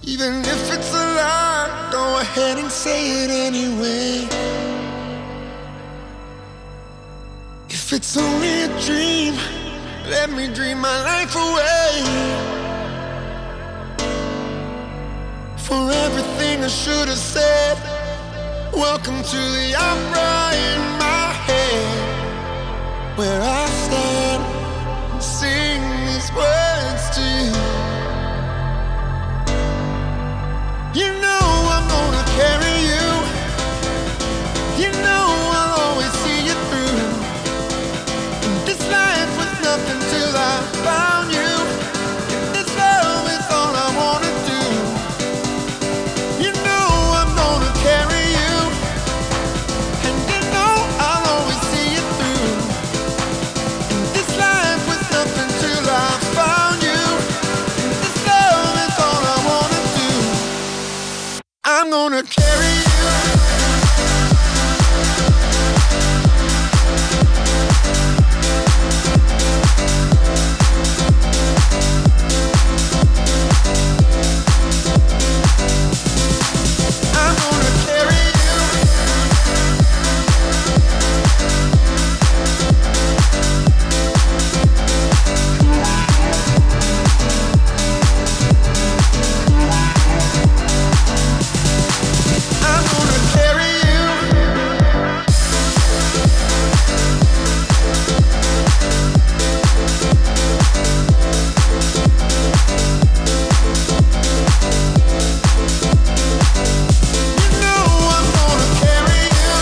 Even if it's a lie, go ahead and say it anyway. If it's only a dream, let me dream my life away. For everything I should have said, welcome to the opera in my head, where I stand and sing these words to you. You know I'm gonna carry you. You know I'll always see you through. And this life was nothing till I found you. And this love is all I wanna do. You know I'm gonna carry you. And you know I'll always see you through. And this life was nothing till I found you. And this love is all I wanna do. I'm gonna carry you. I'm gonna carry you. I'm gonna carry you. You know I'm gonna carry you.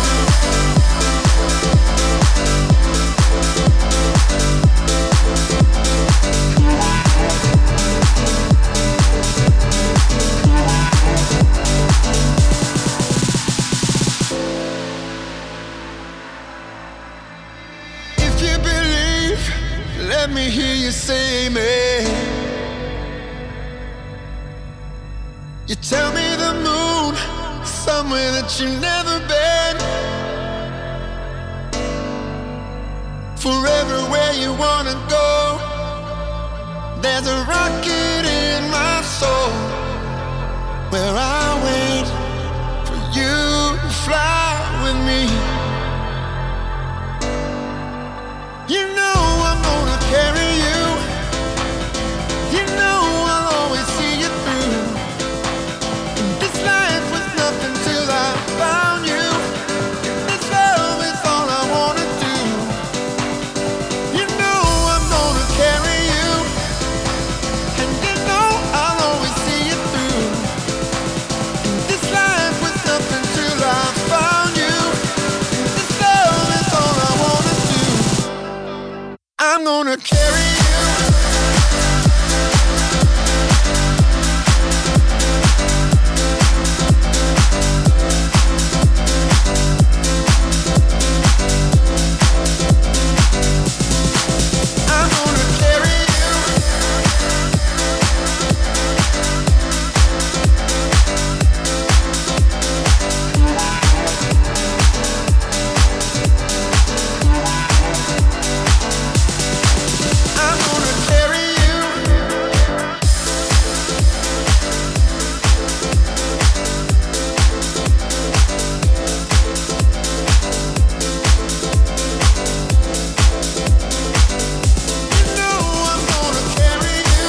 If you believe, let me hear you say amen. You tell me the moon, somewhere that you've never been. Forever where you wanna go. There's a rocket in my soul, where I wait for you to fly with me. You know I'm gonna carry you. You know I'll always see you through. And this life was nothing till I found you. And this love is all I wanna do. You know I'm gonna carry you. And you know I'll always see you through. And this life was nothing till I found you. And this love is all I wanna do. I'm gonna carry you. I'm gonna carry you. I'm gonna carry you. You know I'm gonna carry you.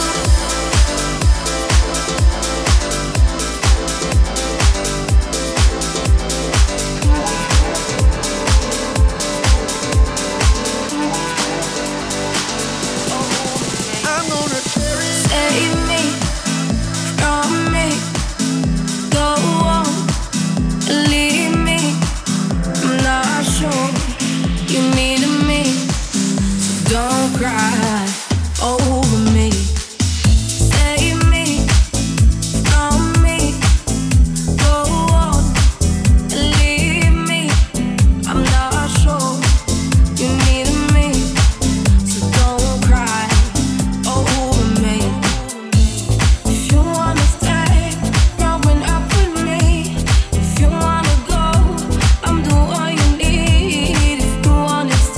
I'm gonna carry you. Save me from me. Go on, leave me. I'm not sure you need me, so don't cry over me. Save me from me. Go on, leave me. I'm not sure you need me, so don't cry over me. If you wanna stay, growing up with me. If you wanna go, I'm the one you need. If you wanna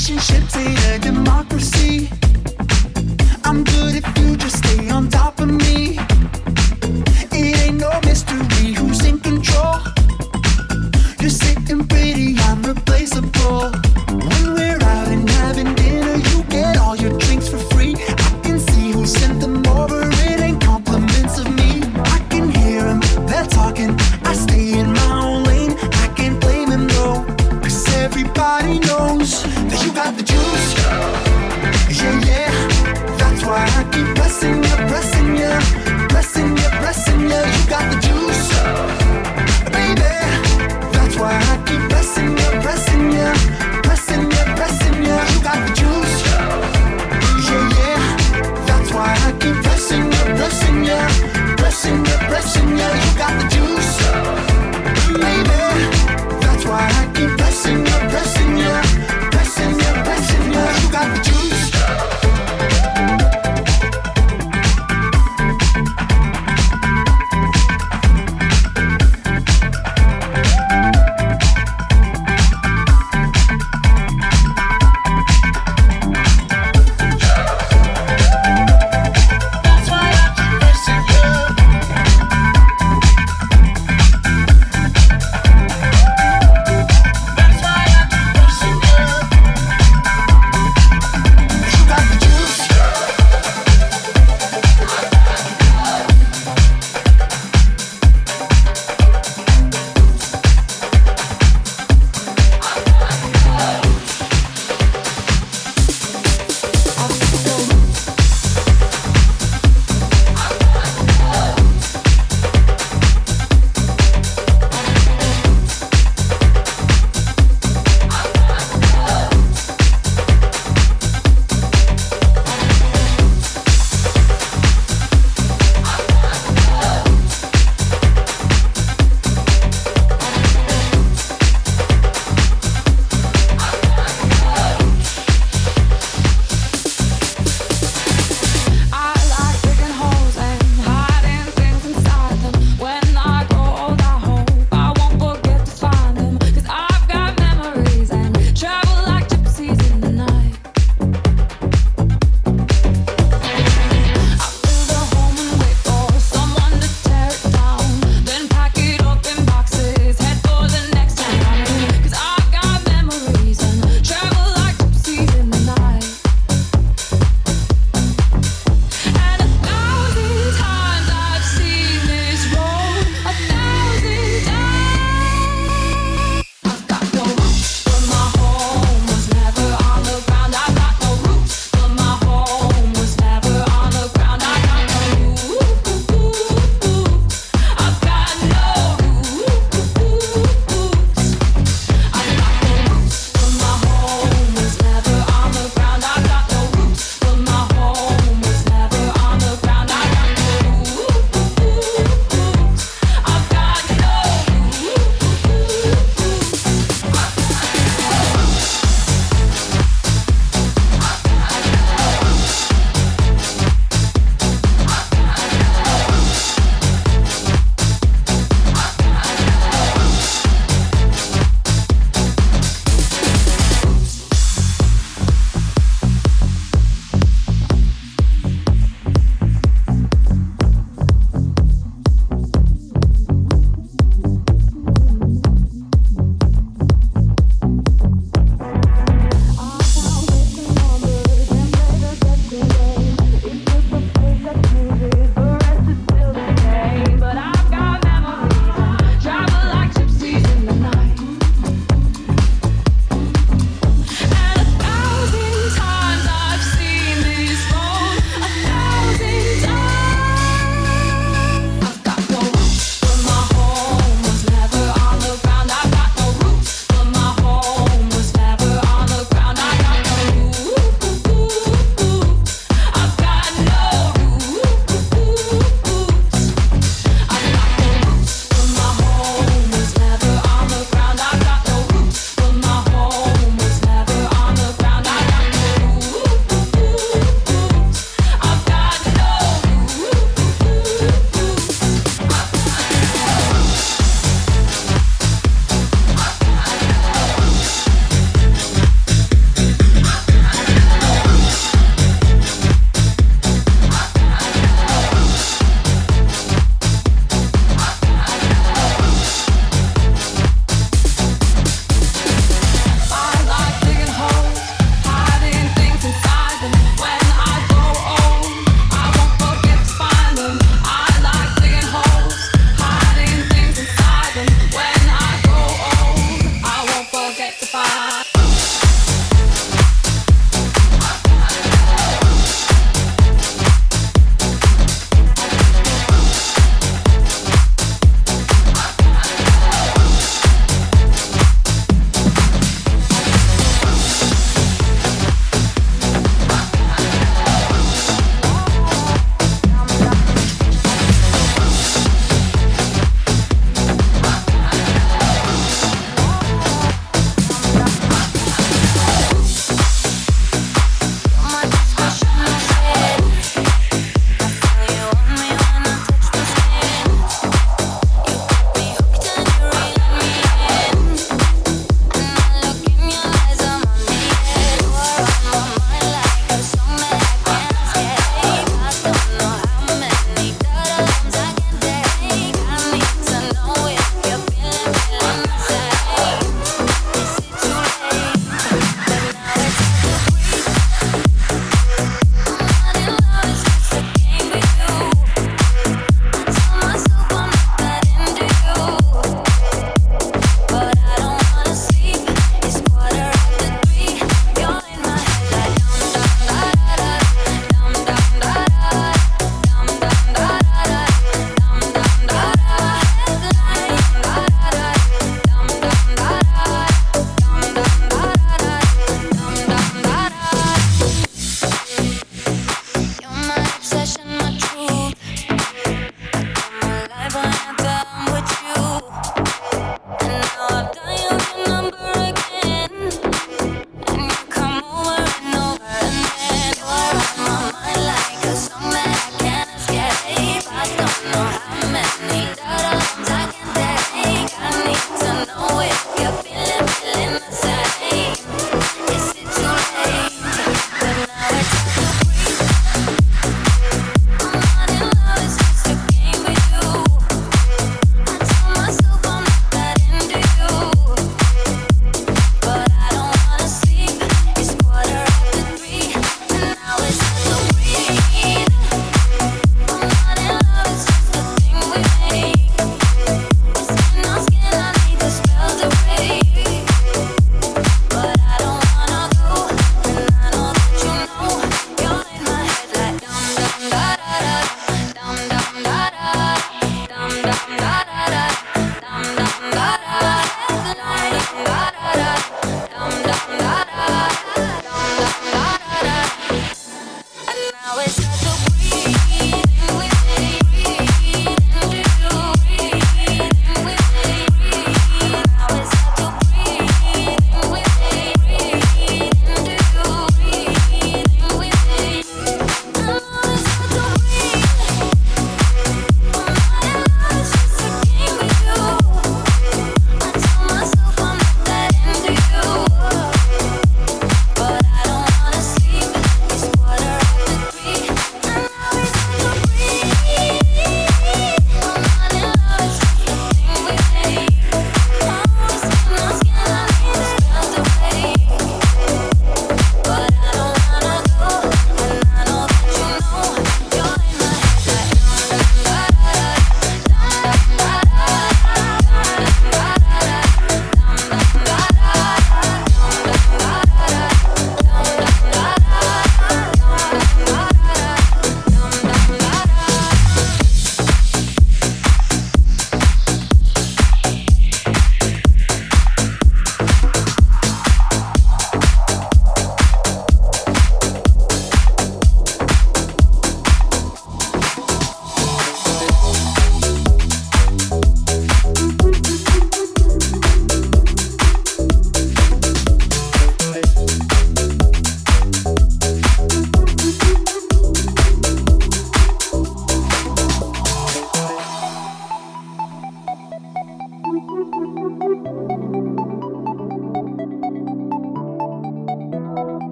Relationships ain't a democracy. I'm good if you just stay on top of me. It ain't no mystery who's in control. You're sitting pretty, I'm replaceable. When we're out and having dinner, you get all your drinks for free. I can see who sent them over, it ain't compliments of me. I can hear them, they're talking, I stay in my own lane. I can't blame them though, cause everybody knows that you got the juice. Yeah, yeah, that's why I keep pressing you, pressing you, pressing you, pressing you. You got the juice, baby. That's why I keep pressing you, pressing you, pressing you, pressing you. You got the juice, yeah, yeah. That's why I keep pressing you, pressing you, pressing you, pressing you. You got the juice, baby. That's why I keep pressing you, pressing you, pressing you, pressing you. You got the juice.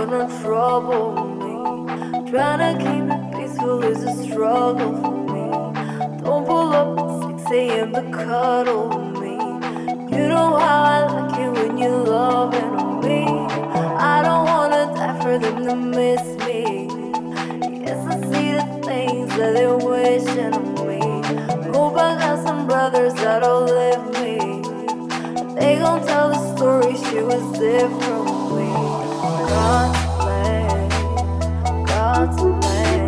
wanna trouble me. Trying to keep it peaceful is a struggle for me. Don't pull up at 6 a.m. to cuddle me. You know how I like it when you're loving on me. I don't wanna die for them to miss me. Yes, I see the things that they're wishing on me. Hope I got some brothers that'll live me. They gon' tell the story, she was different from me. God's plan, God's plan.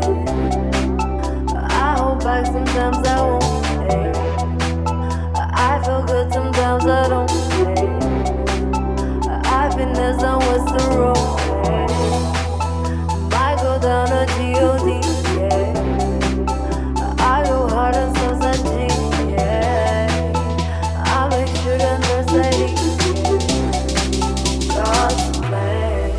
I hold back sometimes I won't pay. I feel good sometimes I don't pay. Happiness on what's the road, might go down a G.O.D. I go hard on Southside G, I make sure that there's lady. God's plan.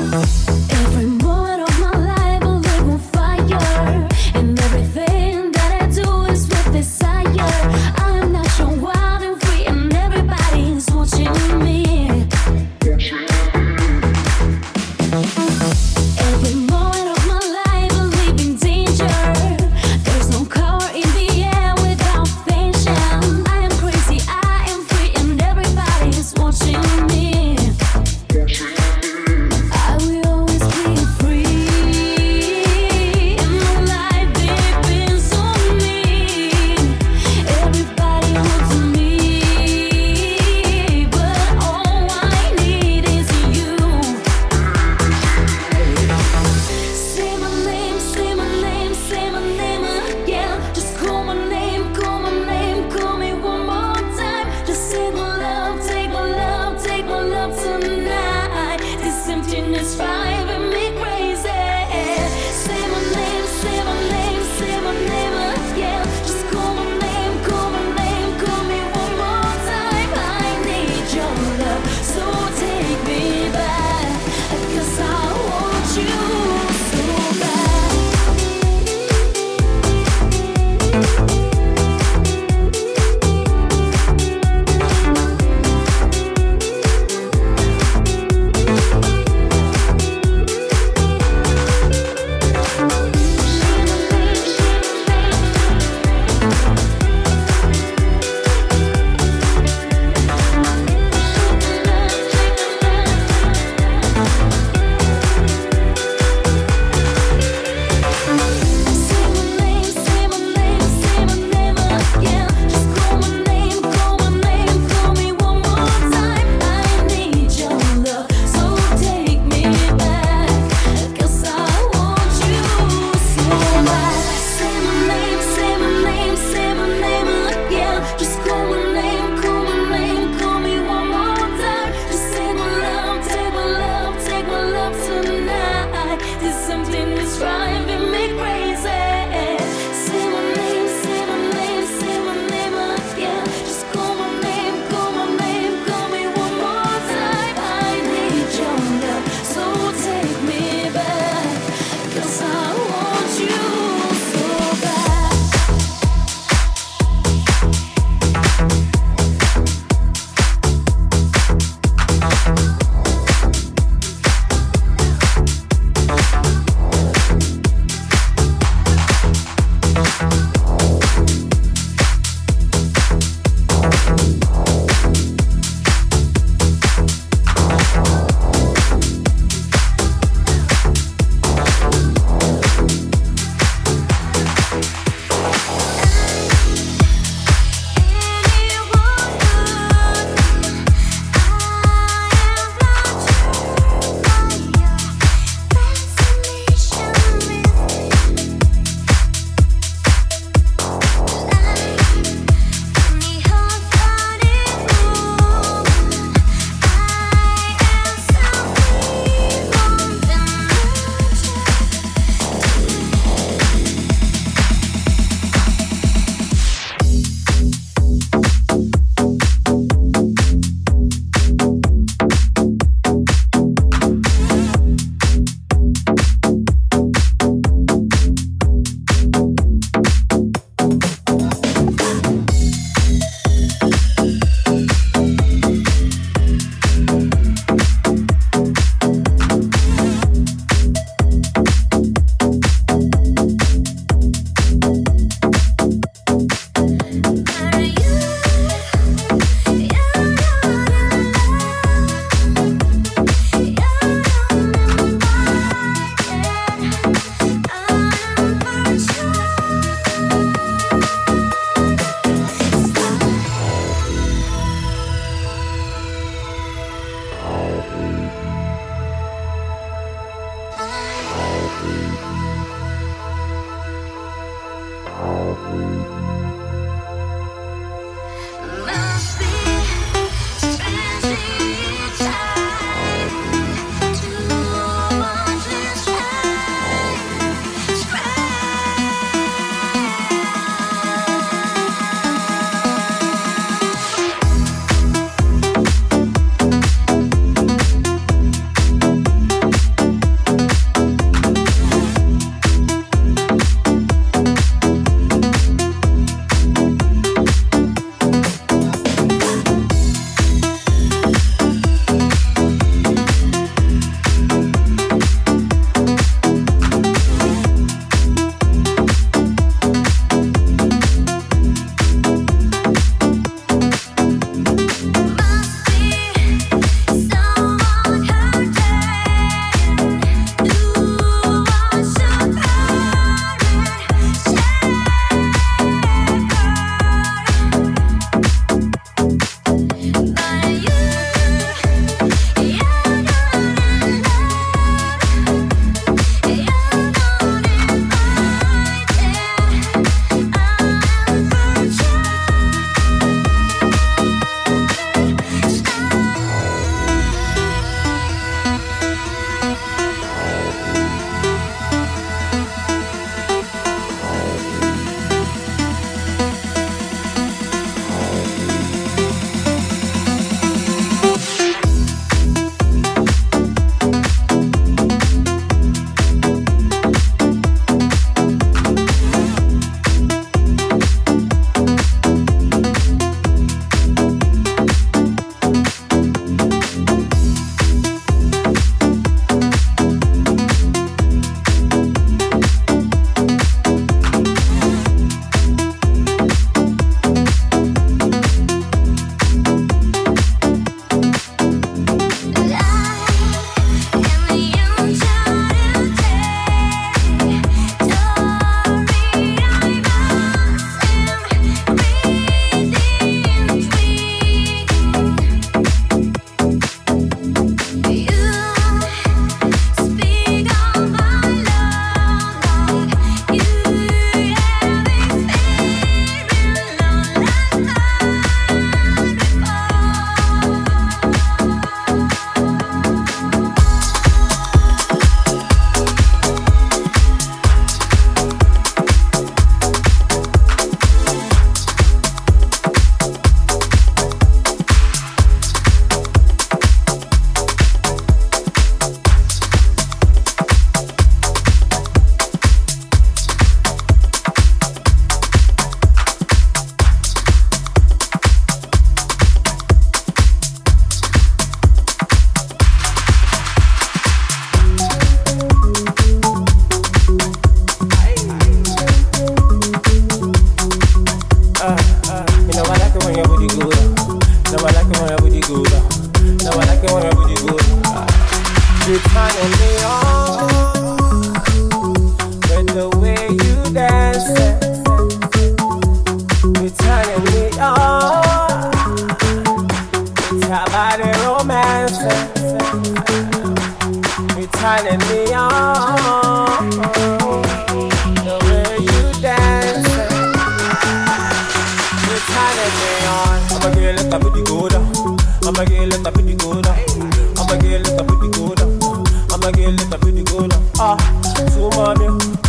I will You're turning me on with the way you dance. You're turning me on with your body romance. You're turning me on the way you dance. You're turning me on. I'ma get let that booty go down. I'ma get let that booty go down. I'ma get let that booty go down. I'ma get let that booty go down. Ah, so mommy,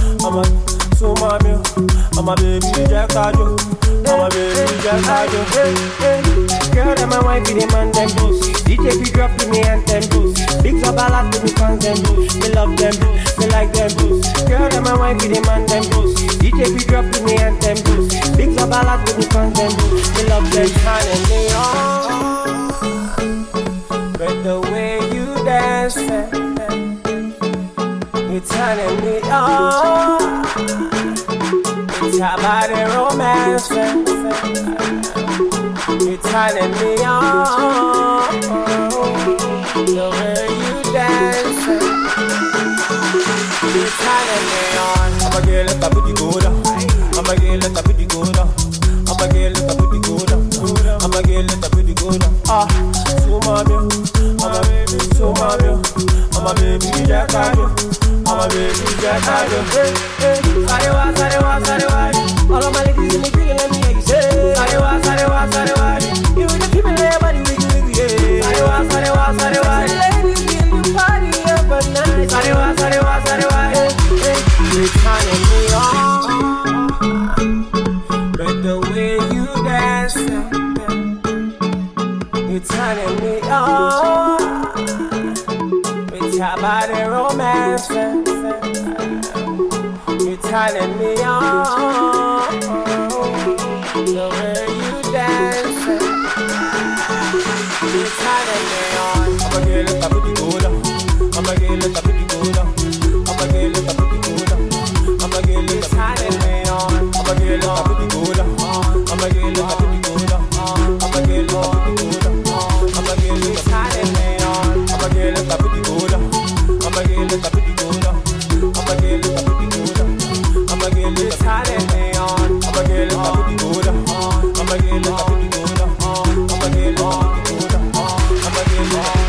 I'm a baby Jack Ajo. I'm a baby Jack Ajo. Hey, hey. Girl, I'm a wife, the man them boost. DJ be drop to me and them boost. Big up a lot to me fans them boost. Me love them, me like them boost. Girl, I'm a wife, the man them boost. DJ be drop to me and them boost. Big up a lot to me fans them boost. Me love them, turning me on. But the way you dance, you're turning me on. It's your body romance. You're turning me on. The way you dance. You're turning me on. I'ma get let that booty go down. I'ma get let that booty go down. I'ma get let that booty go down. I'ma get let that booty go down. Ah, so mommy, I'm a baby, so mommy, I'm a baby Jack Ajo. I'm a baby Jack Ajo. Hey, hey, sarewa, sarewa, sarewa. All of my ladies in the green, let me hear you say sarewa, sarewa, sarewa. You with the people in your body, wiggle, wiggle, yeah. Sarewa, sarewa, sarewa. Ladies in the party up at night. Sarewa, sarewa, sarewa. Hey, hey, you're turning me on. But the way you dance, you're turning me on. With your body romance, you're turning me on. The way you dance, you're turning me on. I'ma get let that booty go down. I'ma get let that booty go down. I'ma get let that booty go down. I'ma get let that booty go down. I'ma get let that booty go down. I'ma get let that booty go down. I'ma get let that booty go down. I'ma get let that booty go down. I'ma get let that booty go down. I'ma get let that booty go down. I'ma get let that booty go down. I'ma get let that booty go down. I'ma get let that booty go down. I'ma get let that booty go down. I'ma get let that booty go down. I'ma get let that booty go down.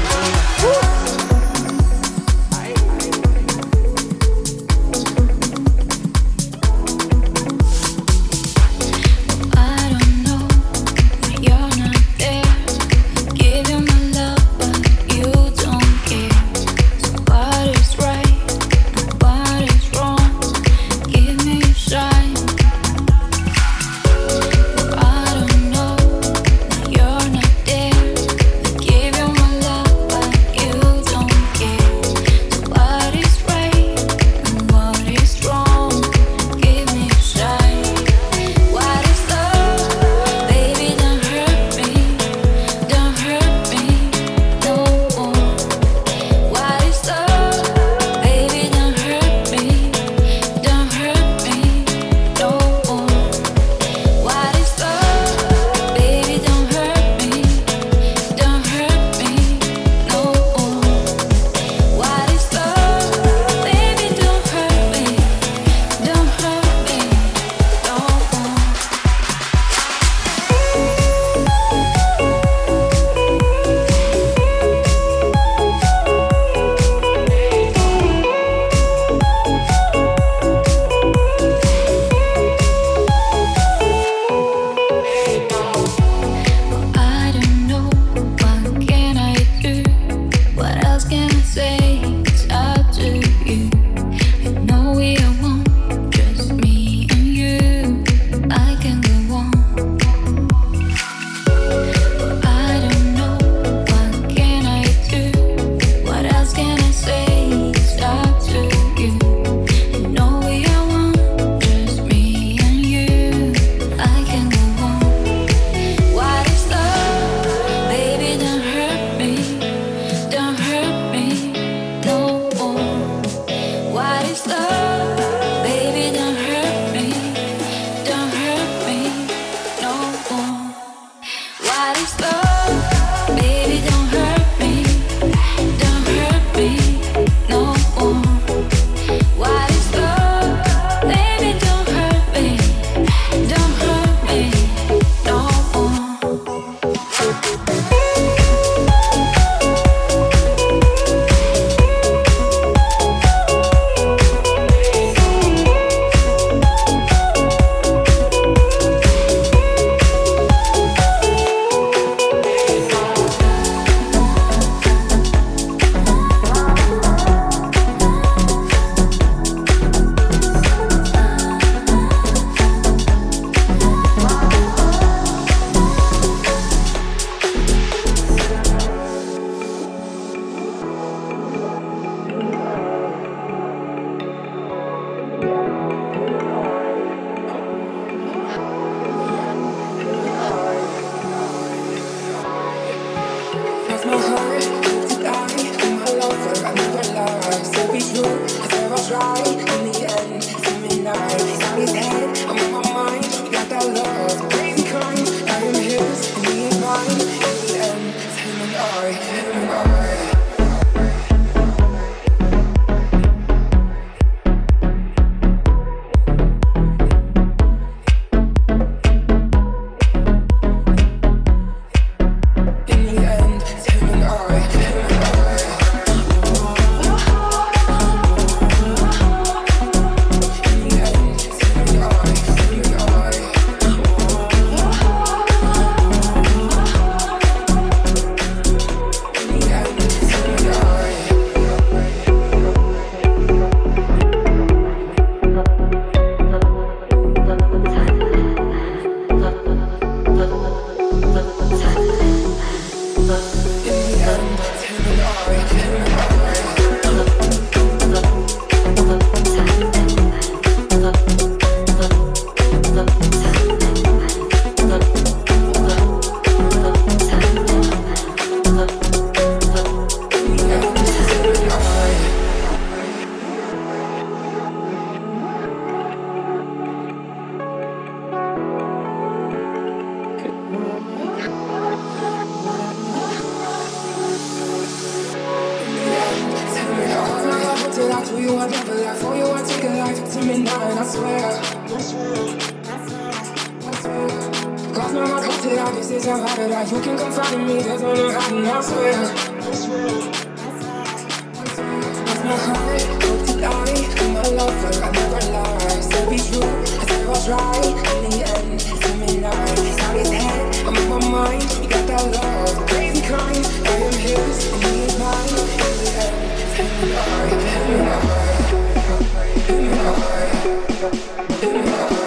you I live a life, for you I take a life. To midnight, I swear. Cause my heart cut it out, this is how I did I. You can confide in me, there's no hiding, I swear. Cause my heart cut it out, and my lover, I never lie. Still be true, I said I was right. In the end, to midnight, it's out his head, I'm in my mind. You got that love, crazy kind. I am his, and he is mine. In the end, in my heart, in my heart, in my heart, in my heart.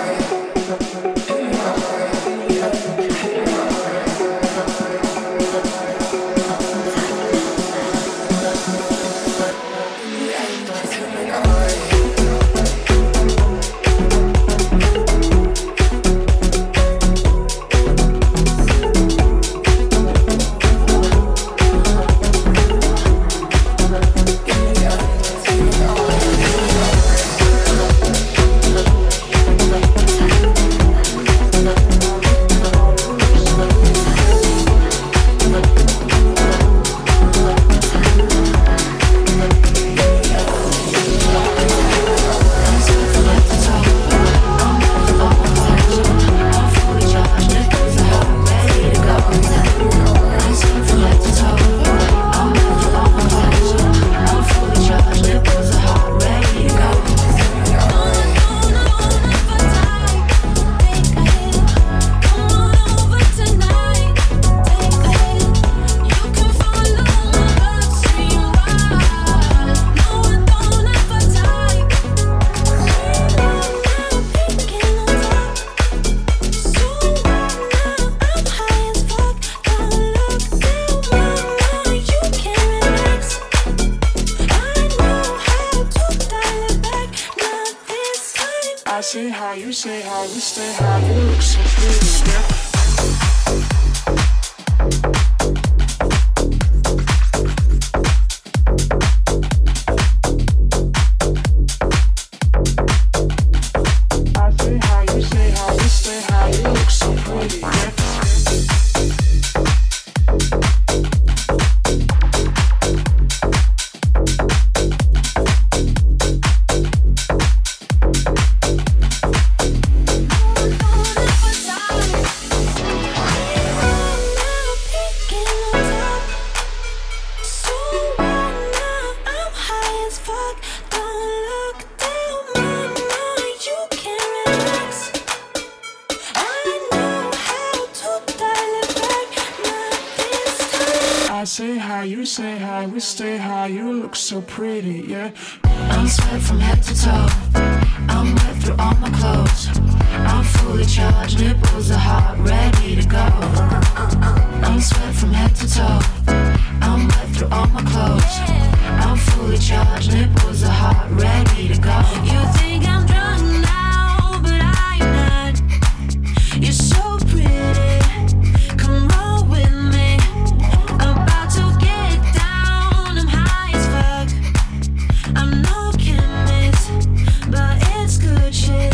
So pretty, yeah. I'm sweat from head to toe. I'm wet through all my clothes. I'm fully charged, nipples are hot, ready to go. I'm sweat from head to toe. I'm wet through all my clothes. I'm fully charged, nipples are hot, ready to go. You think I'm drunk now, but I'm not. You're so pretty, come roll with me. About to get down, I'm high as fuck. I'm no chemist, but it's good shit.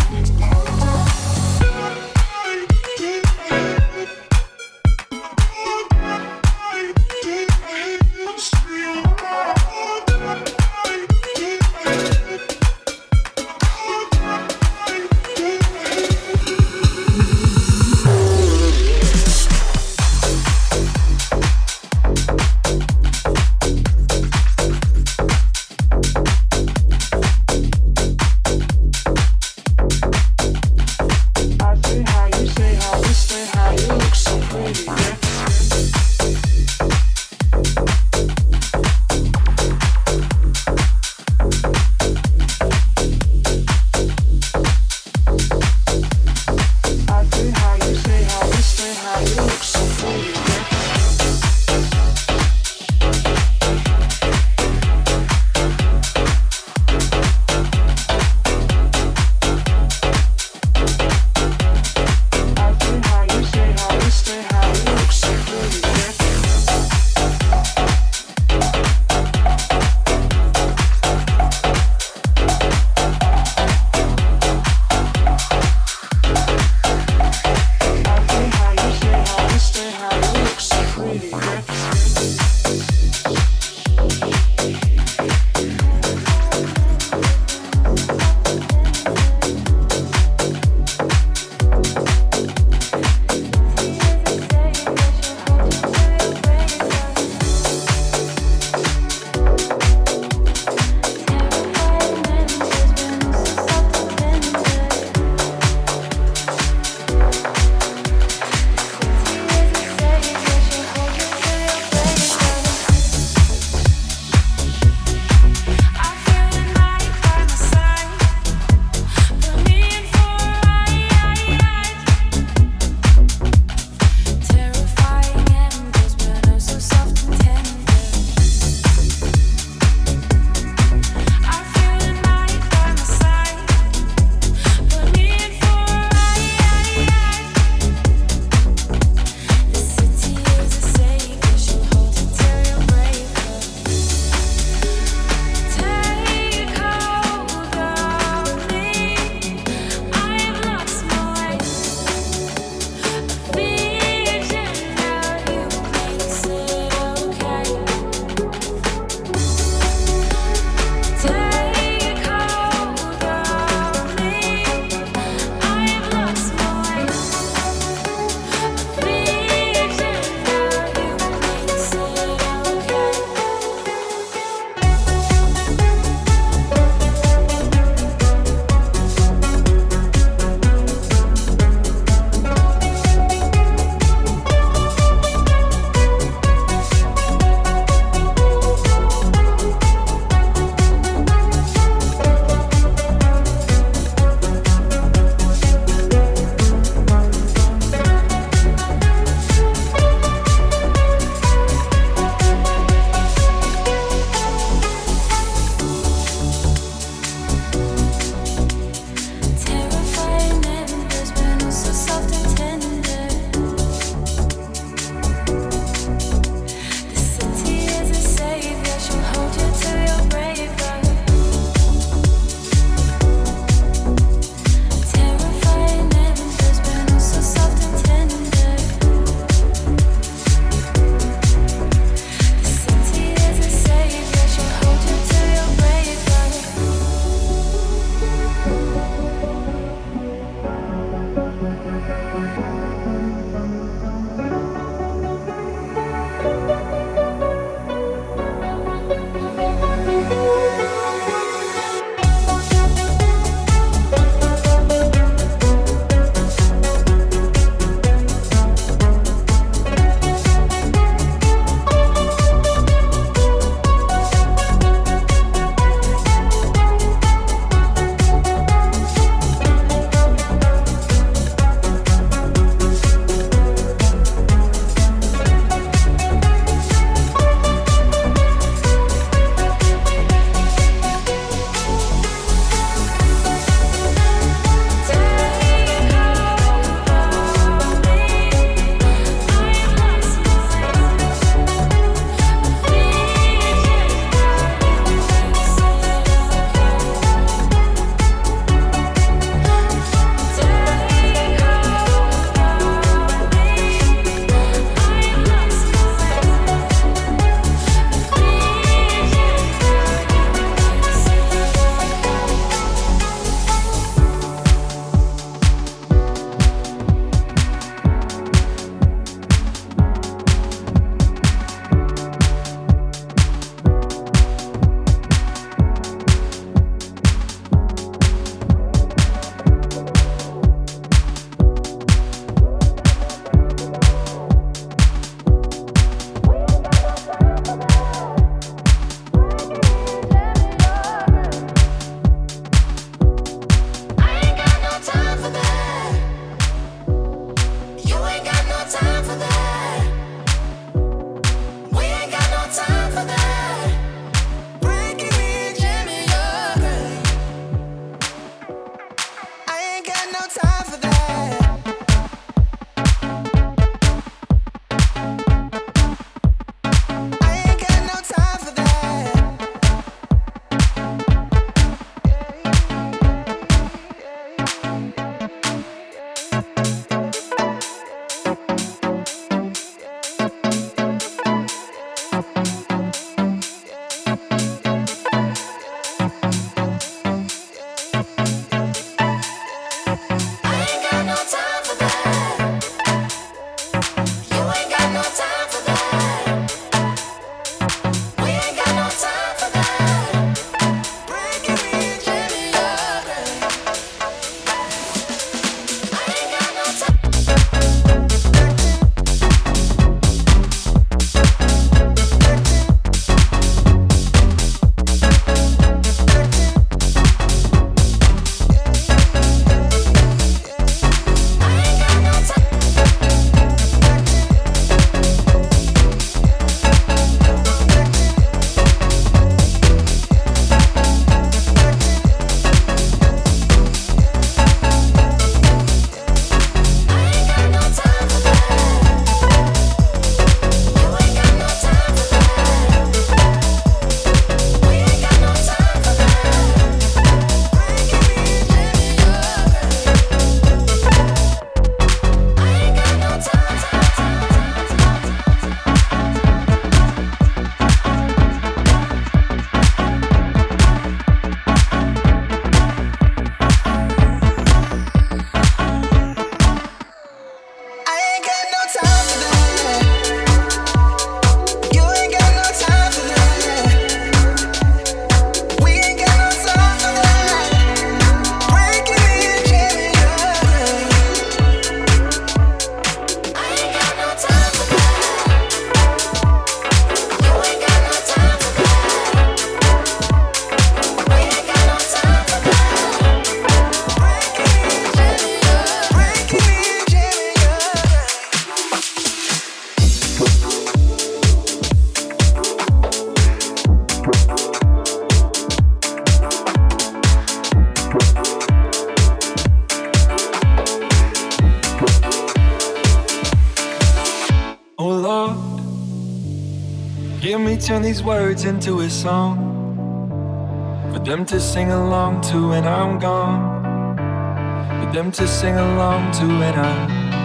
turn these words into a song for them to sing along to when I'm gone. For them to sing along to when I'm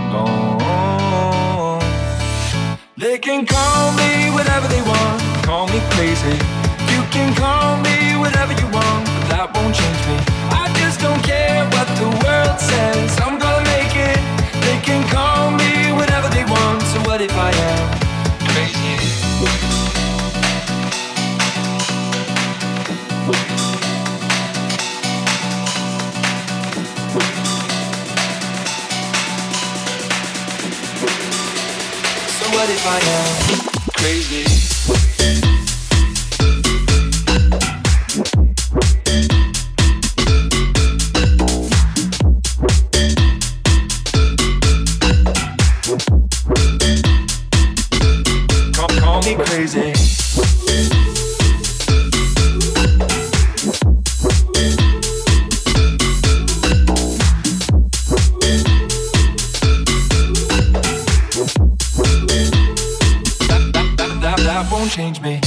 gone. They can call me whatever they want, call me crazy. You can call me whatever you want, but that won't change me. I just don't care what the world says, I'm gonna make it. They can call me whatever they want, so what if I am crazy? So what if I am crazy? Call me crazy. That won't change me.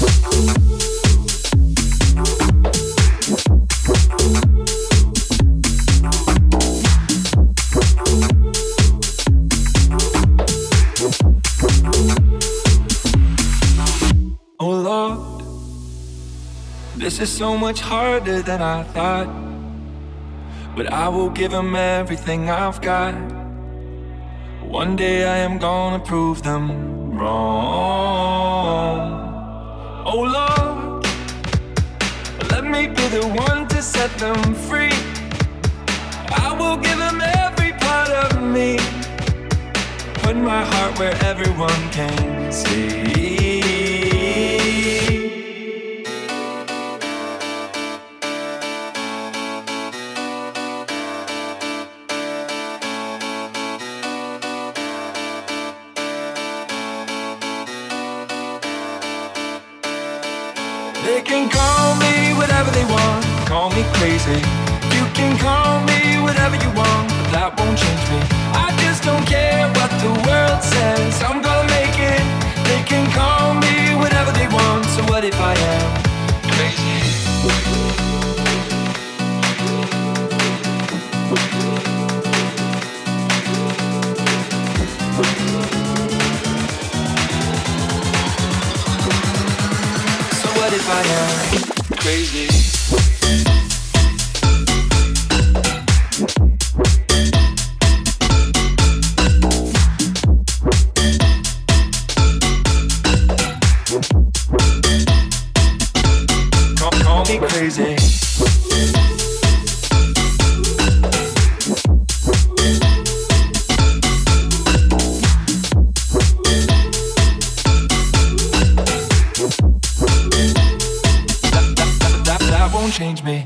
Oh Lord, this is so much harder than I thought, but I will give them everything I've got. One day I am gonna prove them wrong. Oh Lord, let me be the one to set them free. I will give them every part of me, put my heart where everyone can see. They can call me whatever they want, call me crazy. You can call me whatever you want, but that won't change me. I just don't care what the world says, I'm gonna make it. They can call me whatever they want, so what if I am crazy? What if I am crazy? Call me crazy. Change me.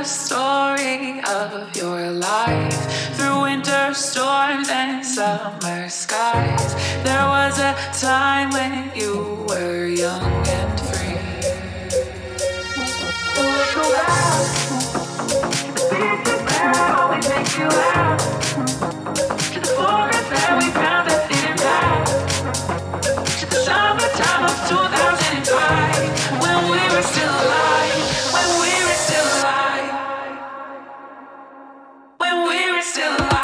story of your life. Through winter storms and summer skies, there was a time when you were young and free. So let's go back to the beaches where I always make you laugh, to the forest that we found that didn't pass, to the summertime of 2005, when we were still alive, when we were still alive, when we were still alive.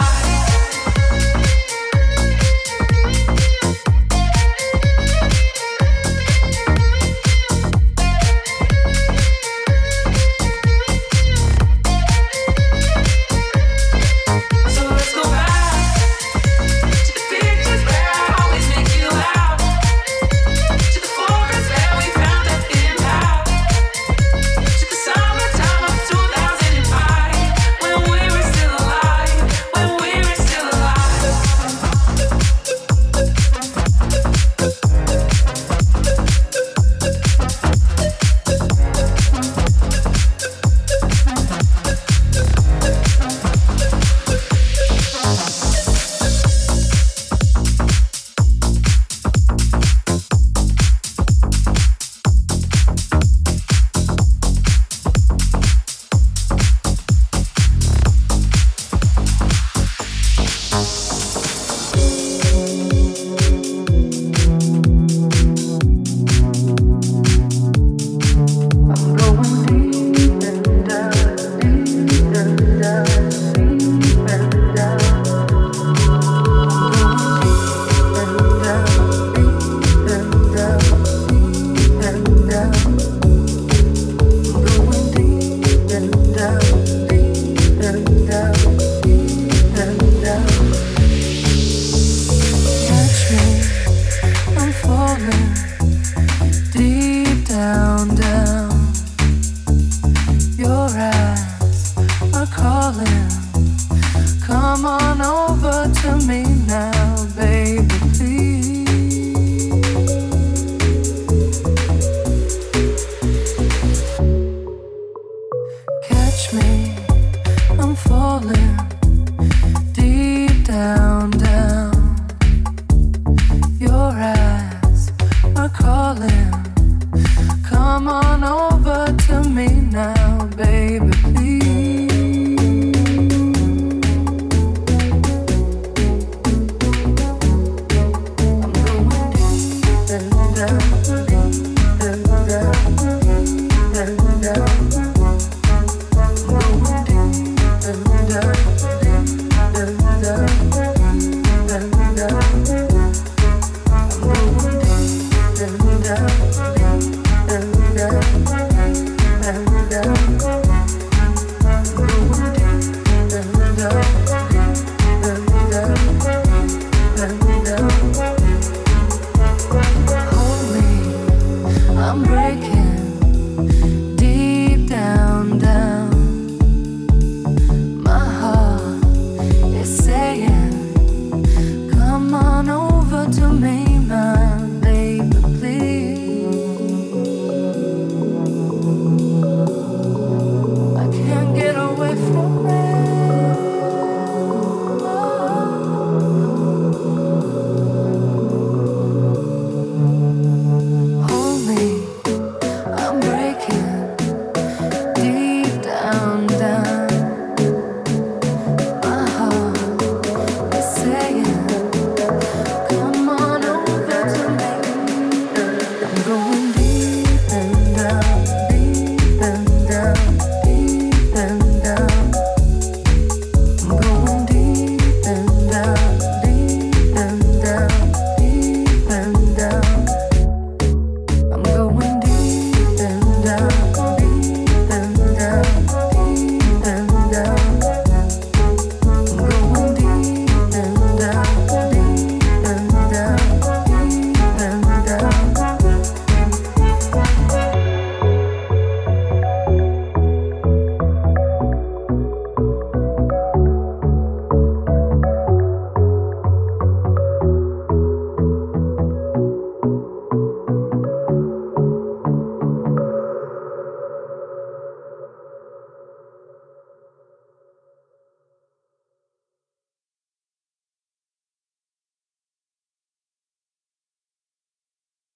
Catch me, I'm falling deep down.